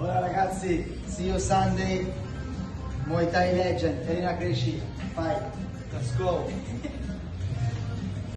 Ora ragazzi, see you Sunday, Muay Thai Legend, Elena Cresci, fight. Let's go.